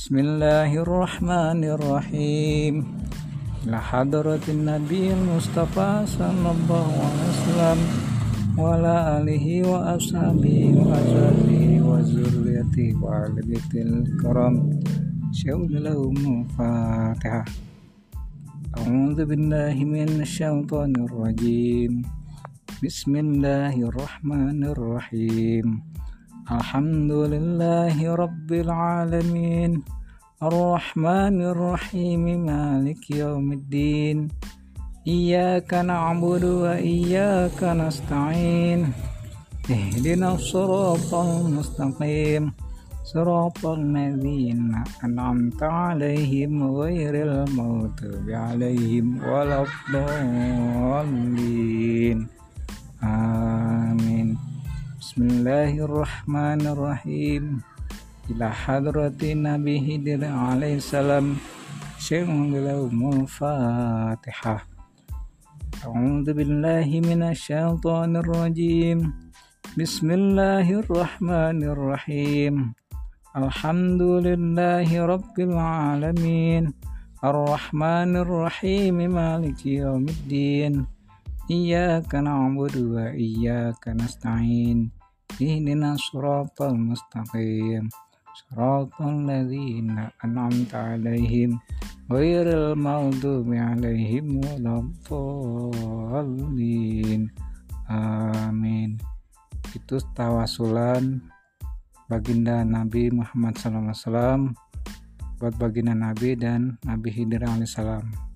Bismillahirrahmanirrahim. Ila hadratin Nabi Mustafa sallallahu alaihi wasallam wa ala alihi wa ashabihi wa azwajihi wa zurriyyatihi wa ahli baitil kiram. Syaulalahum Fatihah. A'udzu billahi minasyaitonir rajim. Bismillahirrahmanirrahim. Alhamdulillahi rabbil alamin. Ar-Rahmanir Rahim. Maliki yaumiddin. Iyyaka na'budu wa iyyaka nasta'in. Ihdinas siratal mustaqim. Siratal ladzina an'amta 'alaihim ghairil maghdubi 'alaihim waladdallin. Amin. Bismillahirrahmanirrahim. Ila hadrati Nabi Khidir alaihi salam. Syaulalahum Fatihah. A'udzu billahi minasyaitonir rajim. Bismillahirrahmanirrahim. Alhamdulillahi rabbil alamin. Ar-Rahmanir Rahim. Maliki yaumiddin. Iyyaka na'budu wa iyyaka nasta'in. Ihdinas siratal mustaqim. Siratal ladzina an'amta 'alaihim ghairil maghdubi 'alaihim waladdallin. Amin. Itu tawasulan baginda Nabi Muhammad SAW buat baginda Nabi dan Nabi Khidir alaihissalam.